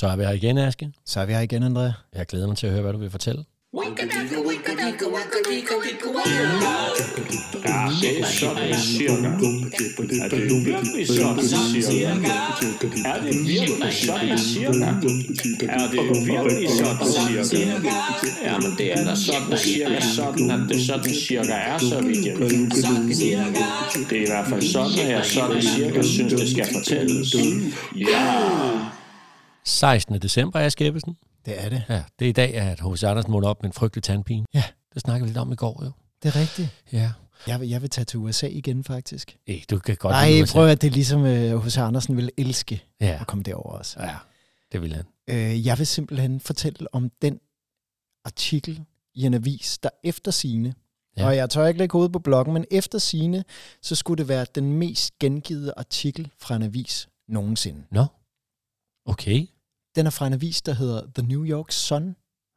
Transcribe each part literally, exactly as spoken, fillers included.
Så er vi her igen, Aske. Så er vi her igen, André. Jeg glæder mig til at høre, hvad du vil fortælle. Ja, det er sådan cirka. Er det virkelig sådan cirka? Er det virkelig sådan cirka? Er det virkelig sådan cirka? Jamen det er da sådan cirka sådan, at det sådan cirka er, så vidt jeg ved. Det er i hvert fald sådan, at jeg sådan cirka synes, det skal fortælles. Ja! sekstende december, Aske Ebbesen. Det er det. Ja, det er i dag, at H C Andersen måtte op med en frygtelig tandpine. Ja. Det snakkede vi lidt om i går, jo. Det er rigtigt. Ja. Jeg vil, jeg vil tage til U S A igen, faktisk. Ej, du kan godt Nej, lide U S A. prøv at det er ligesom H C Andersen ville elske Ja. at komme derover også. Ja, det vil han. Øh, jeg vil simpelthen fortælle om den artikel i en avis, der efter sigende, Ja. og jeg tør ikke lægge hovedet på bloggen, men efter sigende, så skulle det være den mest gengivede artikel fra en avis nogensinde. Nå, okay. Den er fra en avis, der hedder The New York Sun.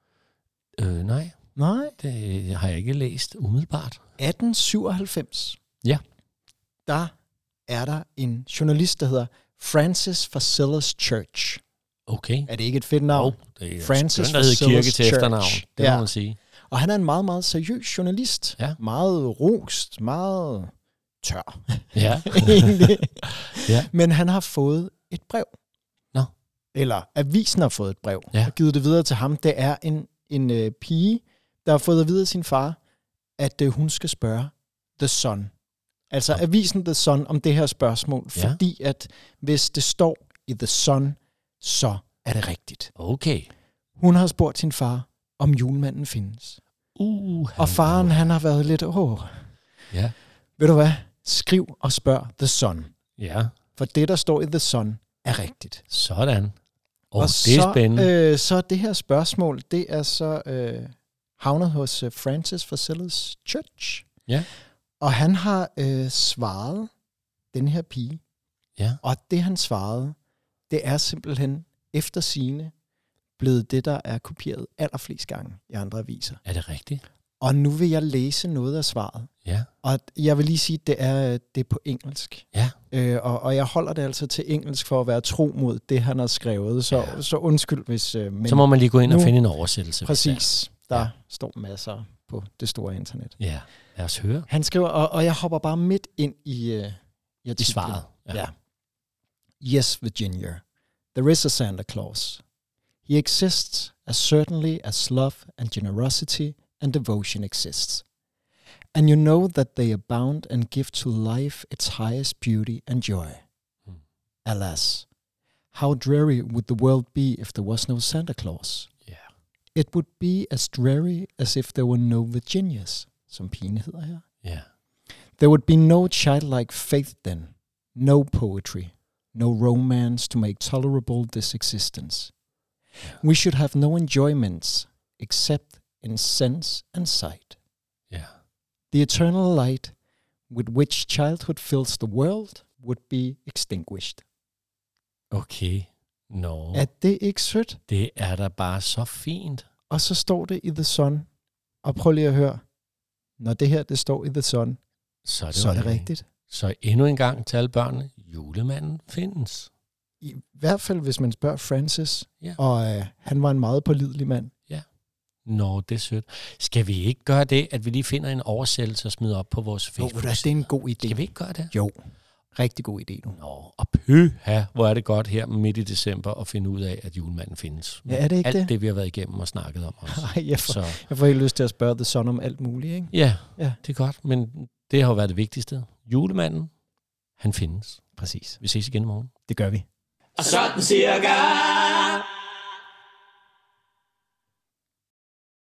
Øh, nej, Nej. det har jeg ikke læst umiddelbart. atten syvoghalvfems. Ja. Der er der en journalist, der hedder Francis Facilis Church. Okay. Er det ikke et fedt navn? Oh, det er Francis skønt, der hedder Facilis kirke til Church. efternavn. Det Ja. må man sige. Og han er en meget, meget seriøs journalist. Ja. Meget rost, meget tør. Ja. egentlig. Ja. Men han har fået et brev. Nå. Eller avisen har fået et brev. Ja. Og givet det videre til ham. Det er en, en øh, pige, der har fået at vide af sin far, at øh, hun skal spørge The Sun. Altså Ja. avisen The Sun om det her spørgsmål. Ja. Fordi at hvis det står i The Sun, så er det rigtigt. Okay. Hun har spurgt sin far, om julemanden findes. Uh, Og faren, han har været lidt, åh, Ja. ved du hvad? Skriv og spørg The Sun. Ja, For det, der står i The Sun, er rigtigt. sådan. Oh, og det så, er spændende. Øh, så det her spørgsmål, det er så øh, havnet hos uh, Francis Facilis Church. Ja. Og han har øh, svaret den her pige. Ja. Og det, han svarede, det er simpelthen efter sigende blevet det, der er kopieret allerflest gange i andre aviser. Er det rigtigt? Og nu vil jeg læse noget af svaret. Ja. Og jeg vil lige sige, at det er, det er på engelsk. Ja. Øh, og, og jeg holder det altså til engelsk for at være tro mod det, han har skrevet. Så, Ja. så undskyld, hvis... Øh, men Så må man lige gå ind og nu- finde en oversættelse. hvis præcis. Der Ja. ja. står masser på det store internet. det er. Ja, lad os høre. Han skriver, og, og jeg hopper bare midt ind i, øh, i I artiklen. svaret. Ja. ja. Yes, Virginia. There is a Santa Claus. He exists as certainly as love and generosity and devotion exists. And you know that they abound and give to life its highest beauty and joy. Hmm. Alas, how dreary would the world be if there was no Santa Claus? Yeah. It would be as dreary as if there were no Virginias, som pigen hedder her. Ja. There would be no childlike faith then, no poetry, no romance to make tolerable this existence. Yeah. We should have no enjoyments except in sense and sight. Ja. The eternal light with which childhood fills the world would be extinguished. Okay. Nå, Er det ikke sødt? det er da bare så fint. Og så står det i The Sun. Og prøv lige at høre. Når det her, det står i The Sun, Så er det, så er det okay. rigtigt. Så endnu en gang til alle børnene. Julemanden findes. I hvert fald, hvis man spørger Francis. Ja. Og øh, han var en meget pålidelig mand. Nå, det er sødt. Skal vi ikke gøre det, at vi lige finder en oversættelse og smider op på vores Jo, Facebook? det er en god idé. Skal vi ikke gøre det? Jo, rigtig god idé nu. Nå, og pyha, hvor er det godt her midt i december at finde ud af, at julemanden findes. Ja, er det ikke Alt det? det, vi har været igennem og snakket om også. Ej, jeg får, Så jeg får helt lyst til at spørge The Sun om alt muligt, ikke? ja, Ja. det er godt, men det har jo været det vigtigste. Julemanden, han findes. Præcis. Vi ses igen i morgen. Det gør vi. Og sådan cirka.